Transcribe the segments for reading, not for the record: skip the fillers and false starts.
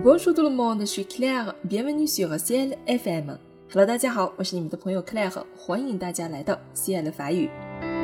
Bonjour tout le monde, je suis Claire, bienvenue sur CL FM。Hello， 大家好，我是你们的朋友 Claire， 欢迎大家来到 CL 法语。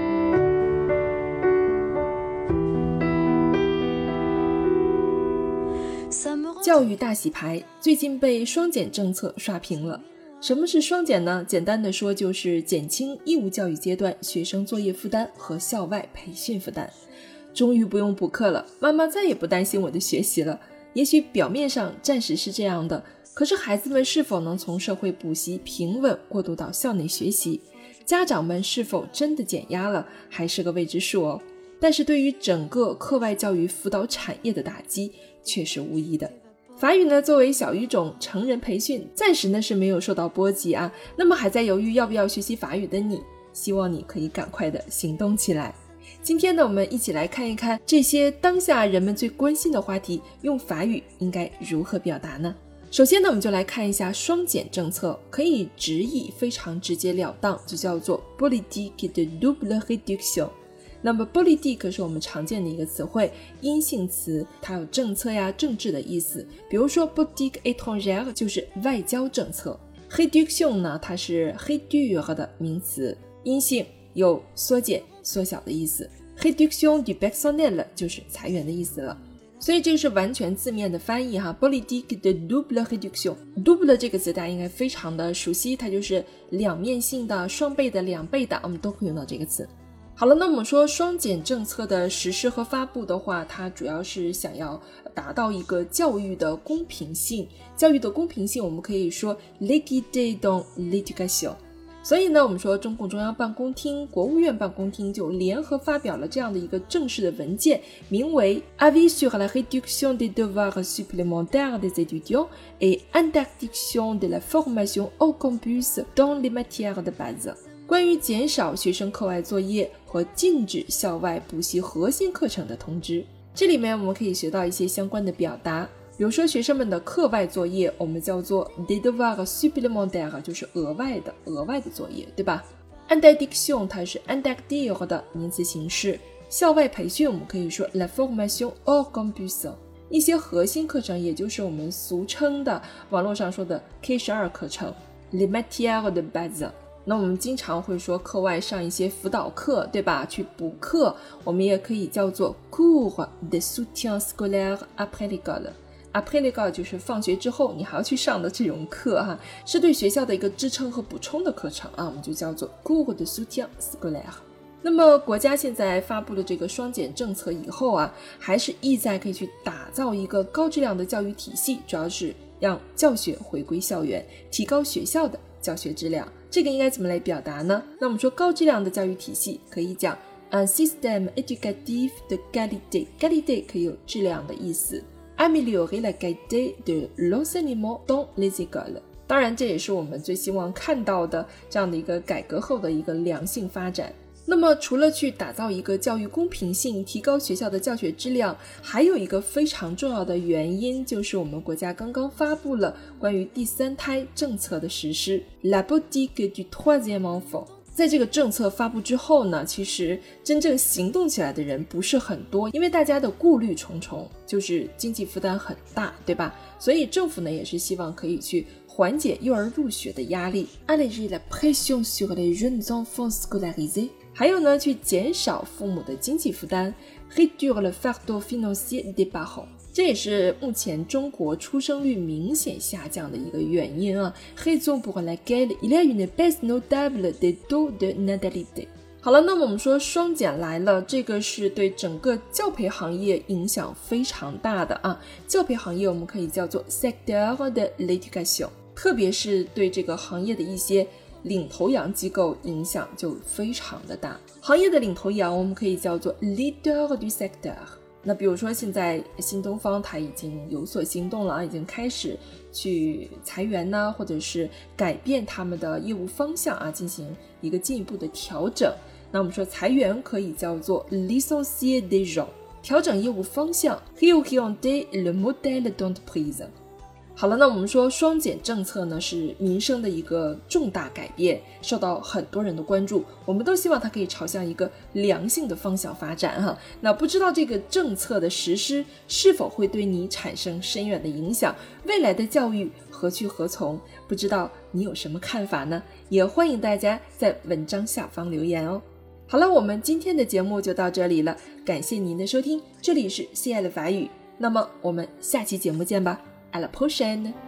教育大洗牌最近被双减政策刷屏了。什么是双减呢？简单的说就是减轻义务教育阶段学生作业负担和校外培训负担。终于不用补课了，妈妈再也不担心我的学习了。也许表面上暂时是这样的，可是孩子们是否能从社会补习平稳过渡到校内学习，家长们是否真的减压了，还是个未知数哦。但是对于整个课外教育辅导产业的打击却是无疑的。法语呢，作为小语种成人培训，暂时呢是没有受到波及啊。那么还在犹豫要不要学习法语的你，希望你可以赶快的行动起来。今天呢，我们一起来看一看这些当下人们最关心的话题，用法语应该如何表达呢？首先呢，我们就来看一下双减政策，可以直译非常直截了当，就叫做 politique de double réduction。那么 politique 是我们常见的一个词汇，阴性词，它有政策呀、政治的意思。比如说 politique étrangère 就是外交政策， réduction 呢，它是 réduire 的名词，阴性，有缩减、缩小的意思。réduction du personnel 就是裁员的意思了。所以这是完全字面的翻译哈 politique de double réduction。 double 这个词大家应该非常的熟悉，它就是两面性的、双倍的、两倍的，我们都会用到这个词。好了，那我们说双减政策的实施和发布的话，它主要是想要达到一个教育的公平性。教育的公平性我们可以说 l'équité dans l'éducation。所以呢，我们说中共中央办公厅、国务院办公厅就联合发表了这样的一个正式的文件，名为 Avis sur la réduction des devoirs supplémentaires des étudiants et interdiction de la formation au campus dans les matières de base。关于减少学生课外作业和禁止校外补习核心课程的通知。这里面我们可以学到一些相关的表达，比如说学生们的课外作业我们叫做 des devoirs supplémentaires， 就是额外的作业，对吧？ interdiction 它是 interdire 的名词形式。校外培训我们可以说 la formation au campus。 一些核心课程也就是我们俗称的网络上说的 K12 课程 les matières de base。那我们经常会说课外上一些辅导课，对吧？去补课，我们也可以叫做 cours de soutien scolaire après l'école。après l'école 就是放学之后你还要去上的这种课哈，是对学校的一个支撑和补充的课程啊，我们就叫做 cours de soutien scolaire。那么国家现在发布了这个双减政策以后啊，还是意在可以去打造一个高质量的教育体系，主要是让教学回归校园，提高学校的教学质量。这个应该怎么来表达呢？那我们说高质量的教育体系可以讲 un système éducatif de qualité。 qualité 可以有质量的意思， améliorer la qualité de l'enseignement dans les écoles。 当然这也是我们最希望看到的这样的一个改革后的一个良性发展。那么除了去打造一个教育公平性，提高学校的教学质量，还有一个非常重要的原因，就是我们国家刚刚发布了关于第三胎政策的实施 La politique du troisième enfant。 在这个政策发布之后呢，其实真正行动起来的人不是很多，因为大家的顾虑重重，就是经济负担很大，对吧？所以政府呢也是希望可以去缓解幼儿入学的压力 Alléger la pression sur les jeunes enfants scolarisés。还有呢，去减少父母的经济负担 réduire le fardeau financier des parents。 这也是目前中国出生率明显下降的一个原因啊 raison pour laquelle il y a une baisse notable des taux de natalité。 好了，那么我们说双减来了，这个是对整个教培行业影响非常大的啊。教培行业我们可以叫做 secteur de l'éducation， 特别是对这个行业的一些领头羊机构影响就非常的大。行业的领头羊我们可以叫做 leader du secteur。 那比如说现在新东方它已经有所行动了，已经开始去裁员呢，或者是改变他们的业务方向啊，进行一个进一步的调整。那我们说裁员可以叫做 licencier des gens， 调整业务方向 réorienter le modèle d'entreprise。 好了，那我们说双减政策呢是民生的一个重大改变，受到很多人的关注，我们都希望它可以朝向一个良性的方向发展哈。那不知道这个政策的实施是否会对你产生深远的影响，未来的教育何去何从，不知道你有什么看法呢？也欢迎大家在文章下方留言哦。好了，我们今天的节目就到这里了，感谢您的收听，这里是亲爱的法语，那么我们下期节目见吧。À la prochaine!